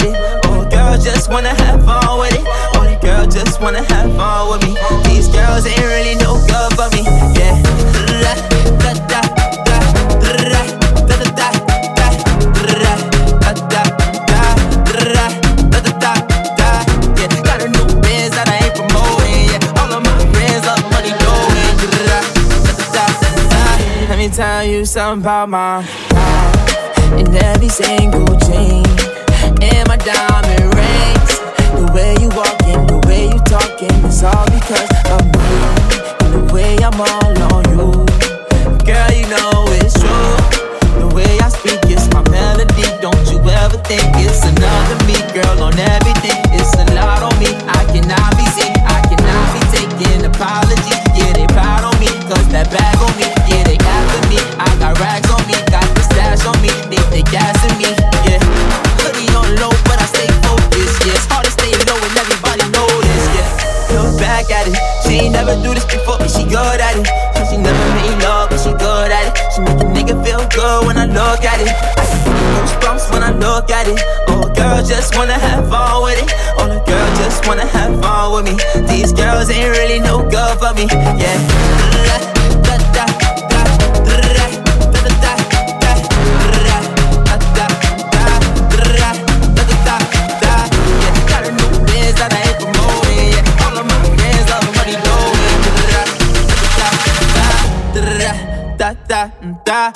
it. Oh, girls just wanna have fun with it. Only girl just wanna have fun with me. These girls ain't really no good for me. Yeah. Da, da, da, da, da, da, da, da, da, da, da, da, da, da. Yeah, got a new Benz that I ain't promoting. Yeah, all of my friends love money going. Let me tell you something about my life. In every single chain, and my diamond rings. The way you walking, the way you talking, it's all because of me. And the way I'm all on you, girl, you know it's true. The way I speak is my melody. Don't you ever think it's another me, girl, on everything. It's a lot on me. I cannot be sick, I cannot be taking apologies. Yeah, they proud on me, cause that bag on me. Yeah, they after me. I got rags on me, got the stash on me. They gassing me, yeah. Hoodie on low, but I stay focused, yeah. It's hard to stay low and everybody know this, yeah. Look back at it, she ain't never do this before, but she good at it. She never made love, but she good at it. She make a nigga feel good when I look at it. I get goosebumps when I look at it. Oh, girl just wanna have fun with it. Oh, the girl just wanna have fun with me. These girls ain't really no good for me, yeah. Da, da, da, da, da, da, da. Da, da, da.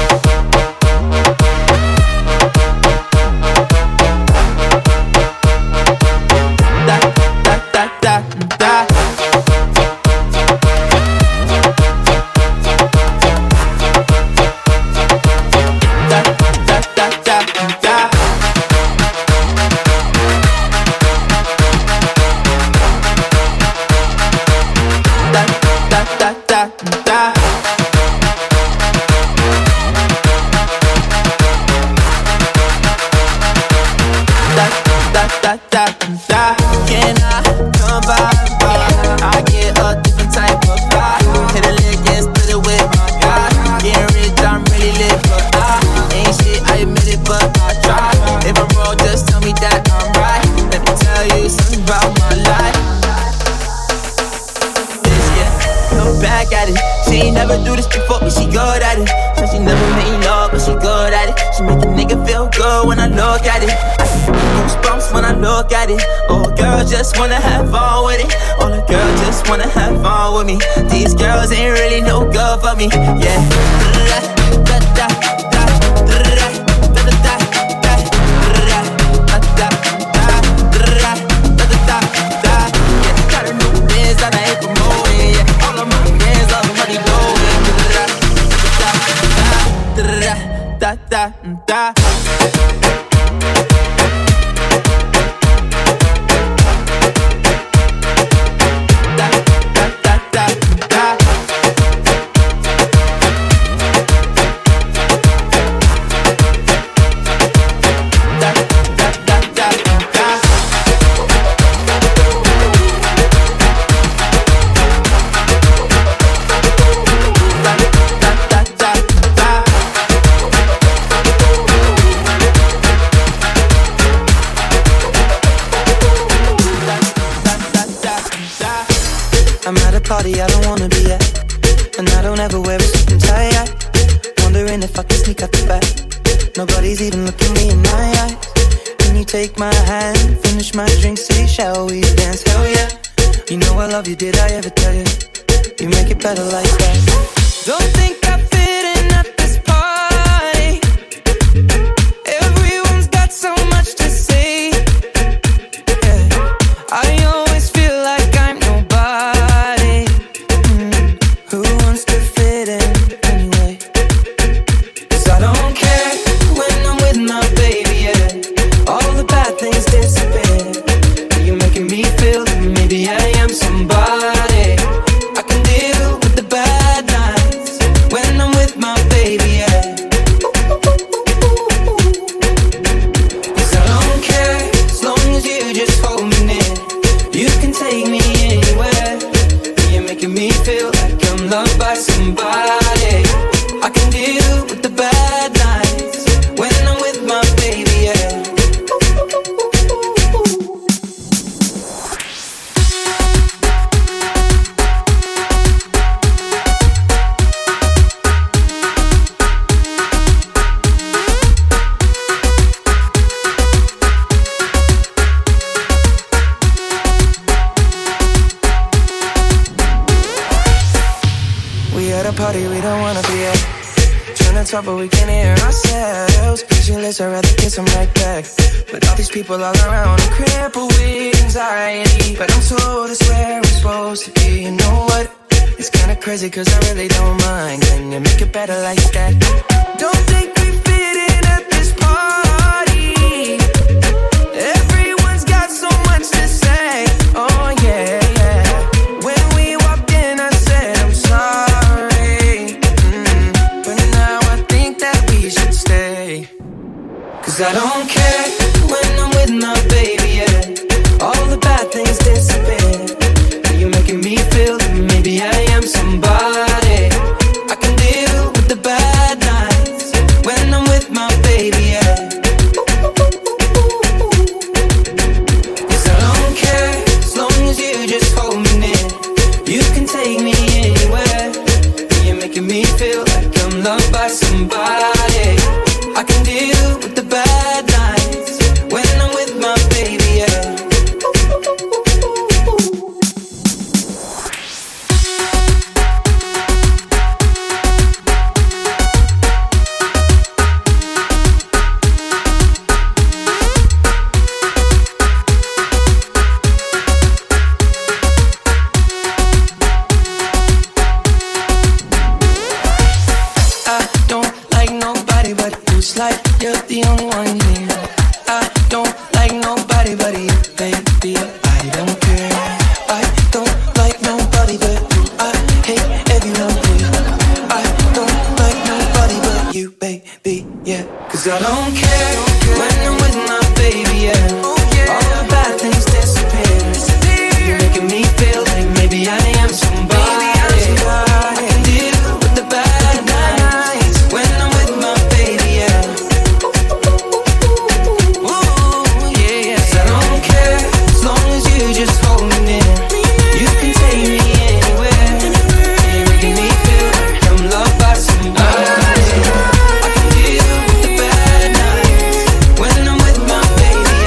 Can I come by? I get a different type of vibe. Hit a lick and split it with my guy. Getting rich, I'm really lit, but I ain't shit, I admit it, but I try. If I'm wrong, just tell me that I'm right. Let me tell you something about my life. Look back at it, she ain't never do this before, but she good at it. She never made love, but she good at it. She make a nigga feel good when I look at it. I get goosebumps when I look at it. Oh, girl just wanna have fun with it. Oh, the girl just wanna have fun with me. These girls ain't really no good for me, yeah. Da, da, da, da, da, da, da, da, da, da, da, da. Yeah, got a new Benz that I ain't promoting, yeah. All of my friends love money going. Da, da, da, da. I'm at a party I don't wanna be at, and I don't ever wear a suit and tie. Wondering if I can sneak out the back. Nobody's even looking me in my eyes. Can you take my hand, finish my drink, say shall we dance? Hell yeah. You know I love you, did I ever tell you? You make it better like that. Don't think I fit in at this party. Everyone's got so much to say, yeah. I always feel like I'm nobody. Who wants to fit in anyway? 'Cause I don't care when I'm with my baby, yeah. All the bad things disappear. You're making me feel that maybe I am somebody. I can deal with the bad nights when I'm with my baby. talk, but we can't hear ourselves. Pictureless, I'd rather kiss them right back. But all these people all around, I'm crippled with anxiety. But I'm told it's where I'm supposed to be. You know what? It's kinda crazy, cause I really don't mind. Can you make it better like that? Don't think we fit in at this party. Everyone's got so much to say. Oh yeah, yeah. When we walked in, I said I'm sorry. But now I think that we should stay. Cause I don't care when I'm with my baby, yeah. All the bad things disappear. You're making me feel that maybe I am somebody. I can deal with the bad nights when I'm with my baby, yeah. Cause I don't care as long as you just hold me near. You can take me anywhere. You're making me feel like I'm loved by somebody. I can deal with the bad nights when I'm with my baby, yeah. Like you're the only one here. I don't like nobody but you, baby. I don't care. I don't like nobody but you. I hate everyone here. I don't like nobody but you, baby. Yeah. Cause I don't care when I'm with my baby. Yeah. All the bad things disappear. You're making me feel like maybe I am somebody. I can deal with the bad nights when I'm with my baby. Yeah. Just hold me near. You can take me anywhere. You're making me feel like I'm loved by somebody. I can deal with the bad nights when I'm with my baby,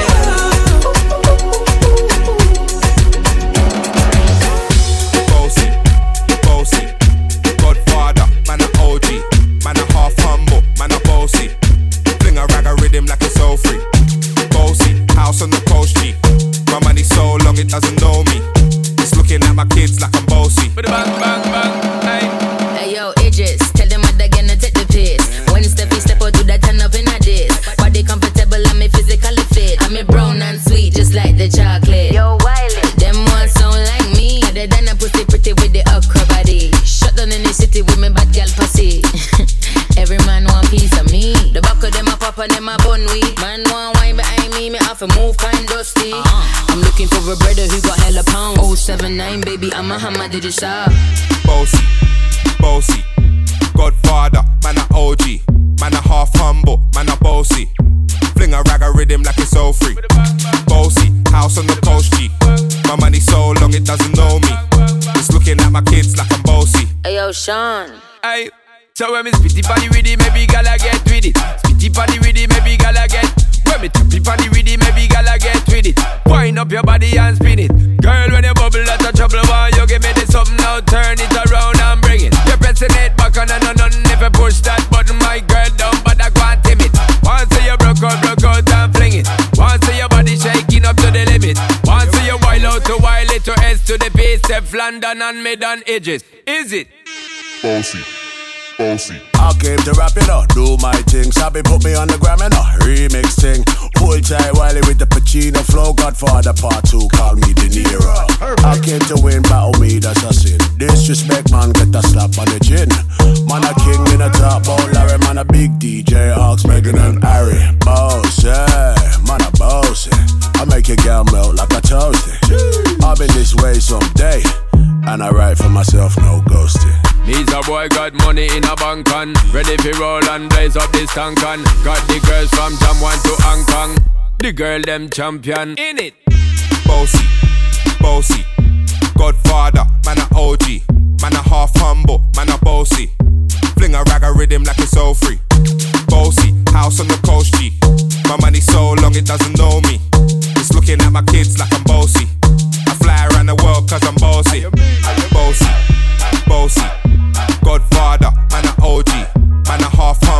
Bossy, bossy, Godfather, man a OG, man a half humble, man a bossy. Fling a rag a rhythm like it's so free. Bossy, house on the coast G. My money so long it doesn't know me. It's looking at my kids like I'm bossy. Bang, bang, bang, hey. Hey yo, Idris, tell them what they're gonna take the piss. When Steffi step out, do that turn up in a diss. Body comfortable, I'm physically fit. I'm brown and sweet, just like the chocolate. Yo, Wiley, them ones sound like me. Other than a pussy pretty with the okra body. Shut down in the city with me bad girl pussy. Every man want piece of me. The back of them a pop and them a bun weed. Man want wine behind me have to move kind dusty. I'm looking for a brother who got hella pounds. 079 baby, I'm a hammer, did you shop? Bossy, bossy, Godfather, man a OG, man a half humble, man a bossy. Fling a rag a rhythm like it's so free. Bossy, house on the coast G. My money so long it doesn't know me. It's looking at my kids like I'm bossy. Hey yo, Sean. Hey, so when me spitty body with it, maybe gala get with it. Spitty body with it, maybe gala get. When me tappy body with it, maybe gala get with it. Wind up your body and spin it. Girl, when you bubble, that's a trouble. Why you give me this something now? Turn it around and bring it. You're pressing it back on and on. If you push that button, my girl, down, but I can't tame it. Once you broke out and fling it. Once your body shaking up to the limit. Once you wild out to wild it to S to the base, Step London and mid on edges. Is it? Bossy, bossy. I came to rap it up, do my thing. Sabi put me on the gram and a remix thing. Hold tight Wiley with the Pacino flow. Godfather part 2, call me De Niro. I came to win, battle me, that's a sin. Disrespect man, get a slap on the chin. Man a king in a top, oh Larry. Man a big DJ, Ox, Megan and Harry. Boss, yeah, man a boss. I make your girl melt like a toasty. I've been this way someday, and I write for myself, no ghosting. Needs a boy got money in a bank on. Ready for roll and blaze up this tank on. Got the girls from Jamwan to Hong Kong. The girl them champion in it. Bossy, bossy, Godfather, man a OG, man a half humble, man a bossy. Fling a rag a rhythm like it's so free. Bossy, house on the coast G. My money so long it doesn't know me. It's looking at my kids like I'm bossy. I fly around the world cause I'm bossy. Bossy, bossy, Godfather, man a OG, man a half humble.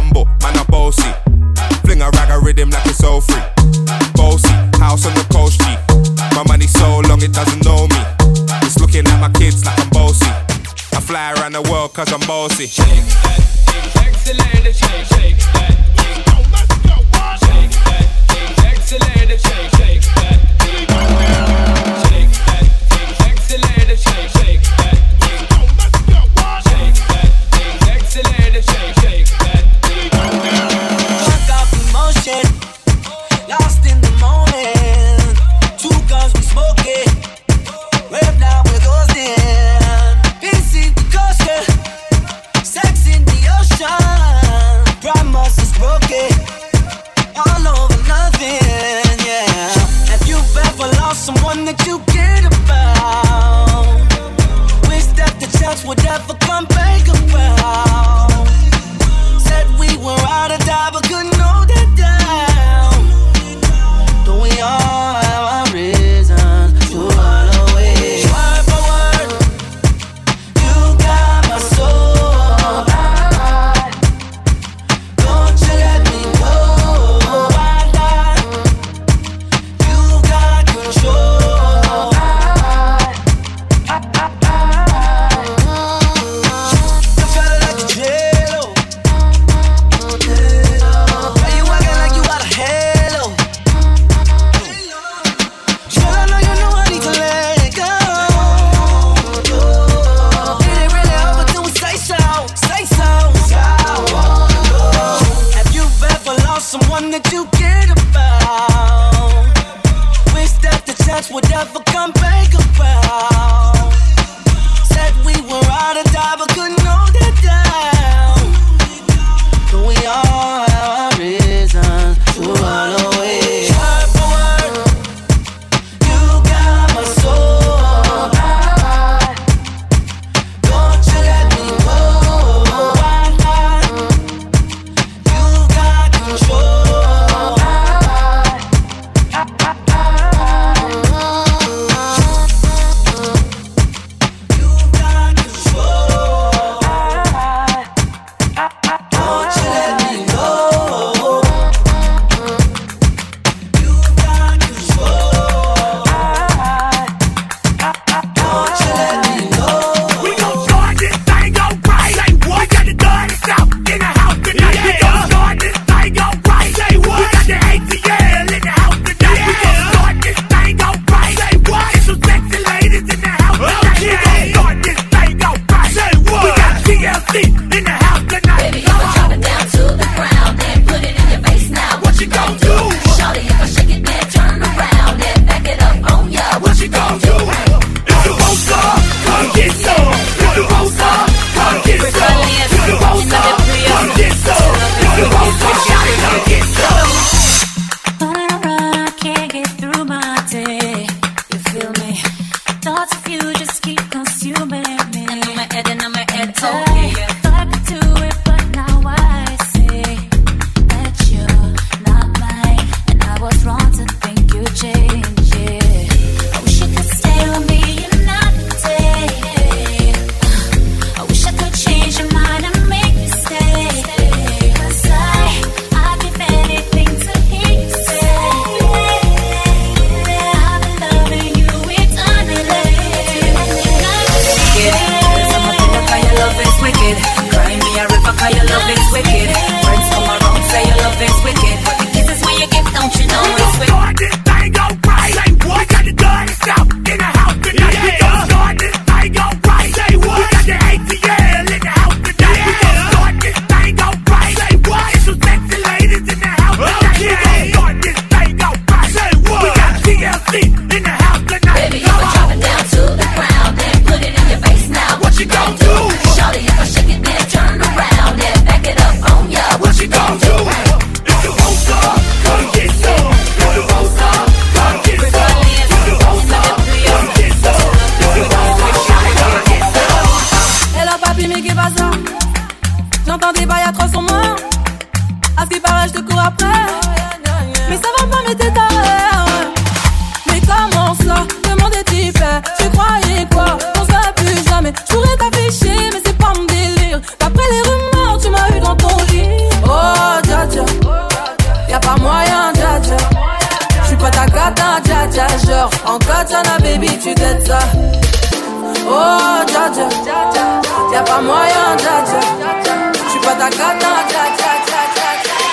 long it doesn't know me. It's looking at my kids like I'm bossy. I fly around the world cause I'm bossy. Shake that thing, sexy lady, shake, shake that thing. Shake that thing, sexy lady, shake, shake that thing. Shake that thing, sexy lady, shake, shake that thing. Shake that thing, sexy lady, shake, shake that thing. Fuck off emotion, lost in the moment. Two guns we smoking, right now we're ghosting. Busy the coaster, sex in the ocean. Promise is broken, all over nothing, yeah. Have you ever lost someone that you cared about? Wish that the chance would ever come back around. Said we were out of time, but couldn't hold it down. Don't we all have our reasons to run away? Word for word, you got my soul. Don't you let me go. You got control. You felt like a jello. Why you acting like you got a halo? Girl, I know you know I need to let go. Did it really over till we say so? Say so. Have you ever lost someone that you cared about? Wish that the chance would ever come back around. Said we were out of time, but couldn't hold it down. Don't we all have our reasons to run away? Word for word, you got my soul. Don't you let me go. You got control. You got control. dja, genre en katana baby tu t'aides ça. Oh dja dja, y'a pas moyen dja dja, j'suis pas ta katana dja dja dja dja dja.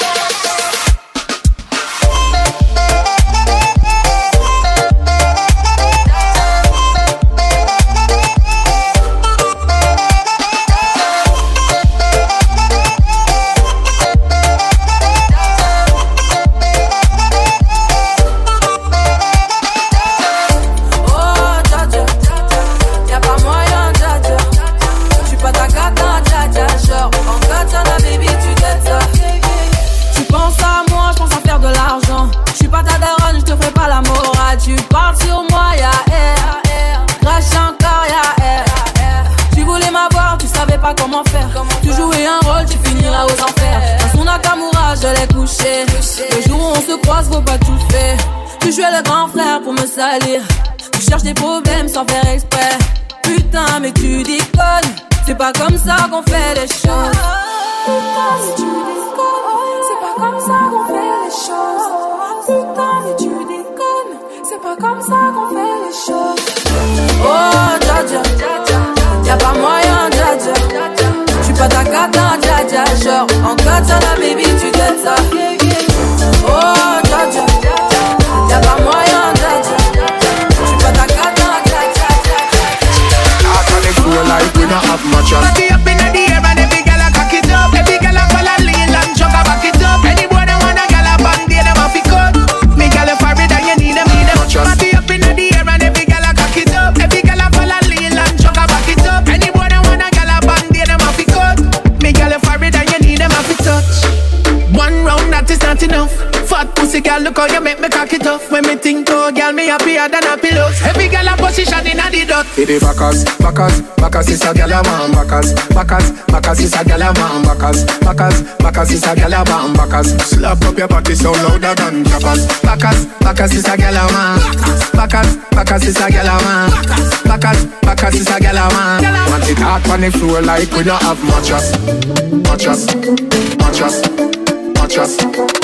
Tu parles sur moi, y'a air, crache encore, y'a air. Tu voulais m'avoir, tu savais pas comment faire. Tu jouais un rôle, tu finiras aux enfers. Dans son Nakamura, je l'ai couché. Le jour où on se croise, faut pas tout faire. Tu jouais le grand frère pour me salir. Tu cherches des problèmes sans faire exprès. Putain, mais tu déconnes. C'est pas comme ça qu'on fait les choses. Putain, mais tu déconnes. C'est pas comme ça qu'on fait les choses. Putain, mais tu déconnes. C'est pas comme ça qu'on fait les choses. Oh dja dja, y'a pas moyen dja dja, j'suis pas ta katana dja dja, genre en katana baby tu t'aides ça. Oh dja dja, y'a pas moyen dja dja, j'suis pas ta katana dja dja dja dja. I can't feel like we don't have much of. Party up in the air and every girl a cock it up. Every girl a fall a lean and jog a back it up. Any boy that wanna girl a band they them a fi cut. Me girl a forehead and you need them. Party up in the air and every girl a cock it up. Every girl a fall a lean and jog a back it up. Any boy that wanna girl a band they them a fi cut. Me girl a forehead and you need them a fi touch. One round that is not enough. Fat pussy girl, look how you make me cock it off. When me think to girl, me happier than a pillow. Every girl a position in a the dot. It is Bacchus, Bacchus, Bacchus is a girl a man. Bacchus, Bacchus, Bacchus is a girl a man. Bacchus, Bacchus, Bacchus is a girl a man. Bacchus, slap up your body so louder than clappers. Bacchus, Bacchus is a girl a man. Bacchus, Bacchus is a girl a man. Bacchus, Bacchus is a girl a man. Want it hot on the floor like we don't have mattress, mattress, mattress, mattress.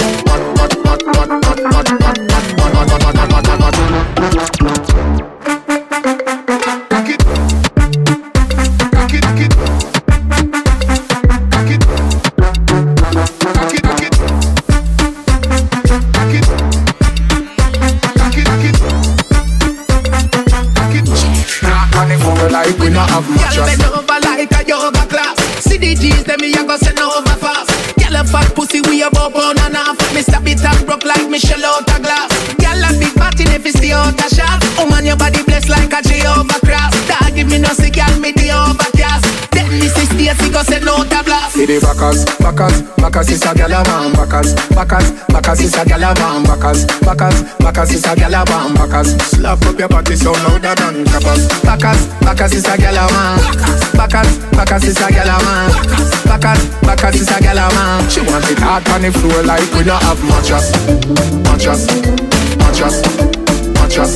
Like we not have much. Girl bend over like a yoga class. See the G's, them me a go send over fast. Girl a fat pussy, we a bump on and off. Me stab it and broke like Michelle out a glass. Girl a big body if it's the out a shot. Oh man, your body blessed like a Jehovah cross. Dog give me no see, girl me the overcast. Then me see Stacy go send out a blast. See the Bacchus, Bacchus, Bacchus is a gyal a man. Bacchus, Bacchus, Bacchus is a gyal a man. Bacchus, Bacchus, Bacchus is a gyal a man. Bacchus, slap up your body so louder than clappers. Bacchus, Bacchus is a gyal a man. Bacchus, Bacchus is a gyal a man. Bacchus, Bacchus is a gyal a man. She want it hard on the floor like we don't have mattress, mattress, mattress, mattress,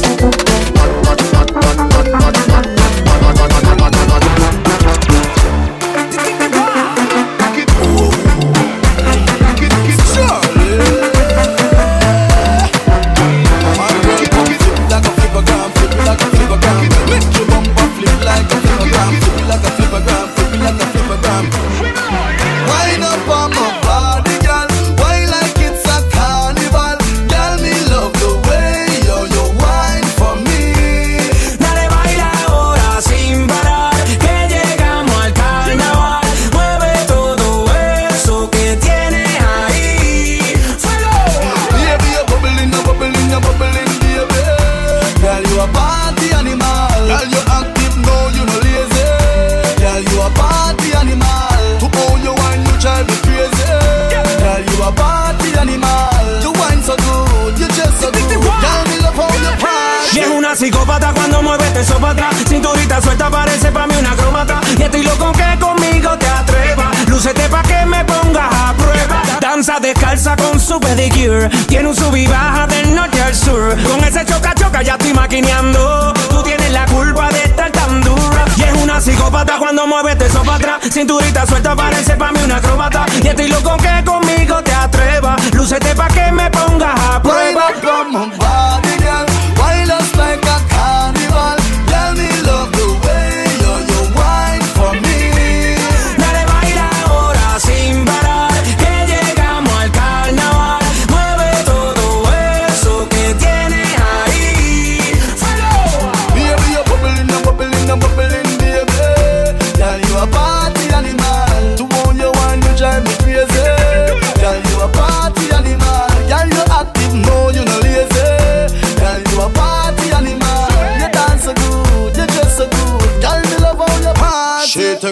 Wind up on my body, girl. Wine like it's a carnival. Girl, me love the way you wine for me. Dale, baila ahora sin parar, que llegamos al carnaval. Mueve todo eso que tienes ahí. ¡Fuego! Baby, you're bubbling, you're bubbling, you're bubbling, baby. Girl, you a party animal. Girl, you active, no, you no lazy. Girl, you a party animal. To own your wine, you drive me crazy. Girl, you a party animal. You wine so good, you just so good. Girl, me love how you pride. Y es una psicópata cuando mueve eso para atrás. Cinturita suelta parece pa' mí una acróbata. Y estoy loco que conmigo te atrevas. Lúcete pa' que me pongas a prueba. Danza descalza con su pedicure. Tiene un sub y baja del norte al sur. Con ese choca-choca ya estoy maquineando. Tú tienes la culpa de estar tan dura. Y es una psicópata cuando mueve eso para atrás. Cinturita suelta parece pa' mí una acróbata. Y estoy loco que conmigo te atrevas. Lúcete pa' que me pongas a prueba. Wind up on my body, girl. Wine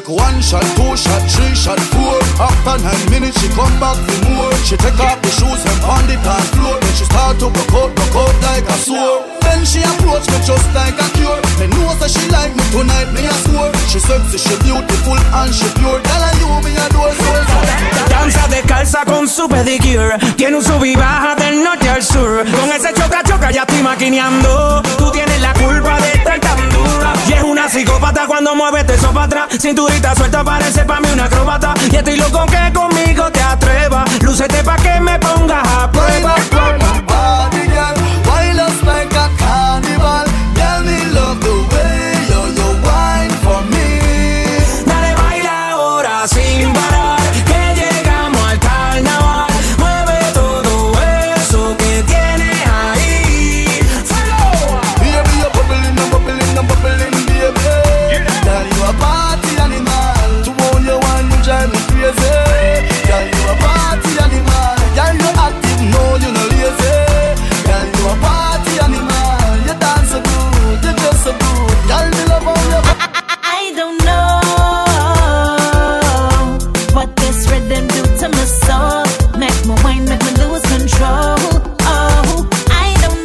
take 1 shot, 2 shot, 3 shot, 4. After 9 minutes, she come back for more. She take off the shoes and on the dance floor. Then she start to broke out like a sword. Then she approach me just like a cure. Me know that she like me tonight, me a score. She sexy, she beautiful and she pure. Tell her you me a door soul. Danza descalza con su pedicure. Tiene un sub y baja del norte al sur. Con ese choca ya estoy maquineando. Tú tienes la culpa de estar tan dura. Y es una psicópata cuando mueves eso para atrás. Cinturita suelta parece pa' mí una acróbata. Y estoy loco que conmigo te atrevas. Lúcete pa' que me pongas a prueba. Body girl, wild us like a carnival. Tell me love the way you wine for me. Dale, baila ahora sin parar, que llegamos al carnaval. Mueve todo eso que tienes ahí. ¡Fuego! Baby, you're bubbling and bubbling and bubbling, baby. Girl, you a party animal. To own your wine, you drive me crazy. Girl, you a party animal. Girl, you active, no, you no lazy. Girl, you a party animal. You dance so good, you just so good. Girl, me love how you. I don't know what this rhythm do to my soul. Make me wine, make me lose control. Oh, I don't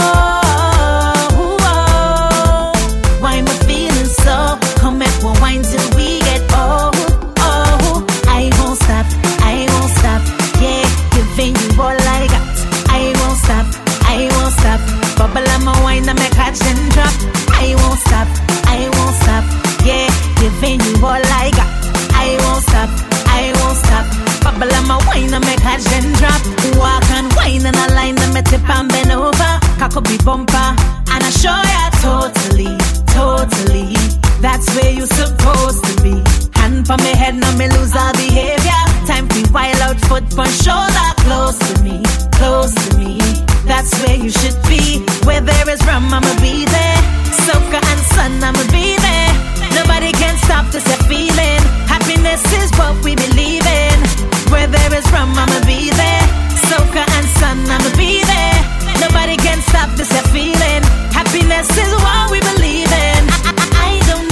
know why I'm feeling so. Come make me wine till we get old. Oh, I won't stop, yeah, giving you all I got. I won't stop, bubble on my wine and make catch and drop. I won't stop, yeah, giving you all I got. I won't stop, bubble on my wine and make catch and drop. Walk and wine and a line and me tip and bend over. Cock up the bumper and I show ya totally. That's where you supposed to be. Hand for me head, now me lose all behavior. Time for wild out, foot for shoulder. Close to me. That's where you should be. Where there is rum, I'ma be there. Soca and sun, I'ma be there. Nobody can stop this feeling. Happiness is what we believe in. Where there is rum, I'ma be there. Soca and sun, I'ma be there. Nobody can stop this feeling. Happiness is what we believe in. I don't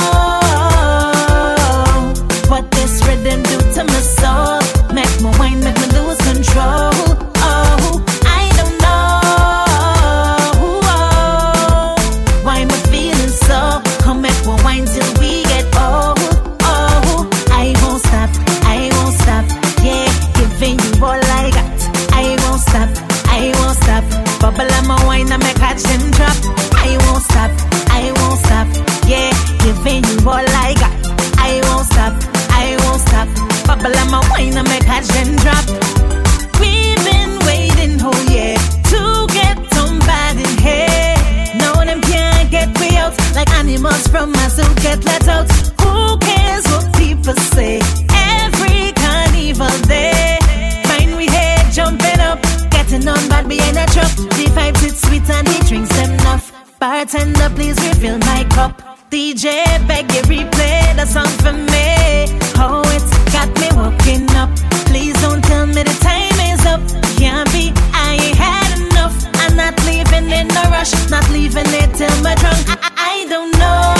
know what this rhythm do to my soul. Make me wine, make me lose control. Oh, I don't know why I'm feeling so. Come make me wine till we get old. Oh, I won't stop, yeah, giving you all I got. I won't stop, bubble on my wine and make catch and drop. I won't stop, yeah, giving you all I got. I won't stop, bubble on my wine and make catch and drop. We've been waiting, oh yeah, to get somebody here. No, them can't get me out like animals from a zoo get let out. Who cares what people say? Every carnival day, find we here jumping up, getting on bad behind a truck. The vibes it's sweet and the drinks them enough. Bartender, please refill my cup. DJ, beg you replay the song for me. Oh, it's got me walking up. Please don't tell me the time is up. Can't be, I ain't had enough. I'm not leaving in a rush, not leaving it till my drunk. I don't know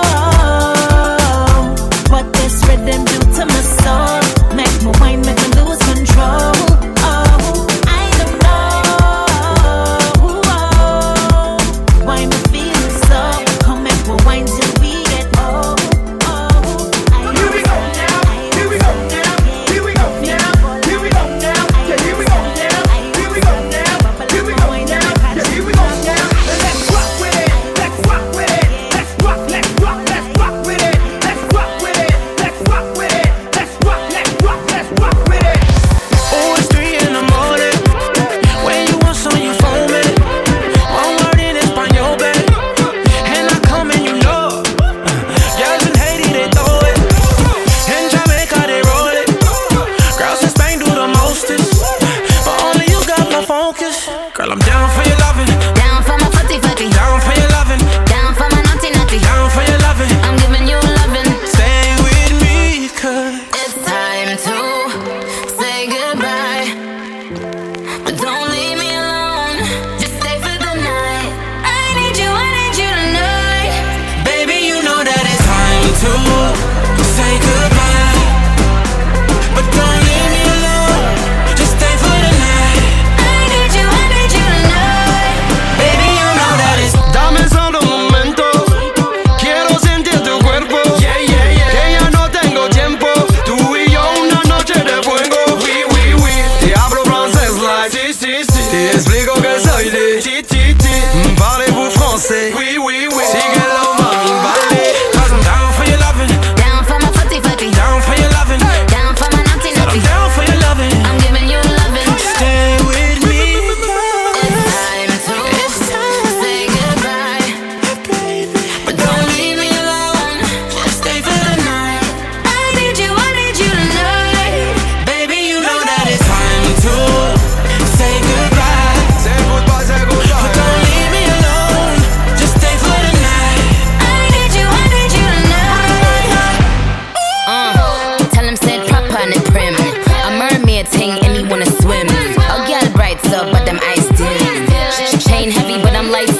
what this rhythm do to my soul. Make me wine, make me lose control. Oh, I don't know why I'm feeling so. Come make me wine till we get old. Oh, here we go now. Here we go now. Here we go now. Here we go now. Yeah, here we go now. Here we go now. Here we go now. Yeah, here we go now. Let's rock with it. Let's rock with it.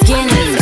skin.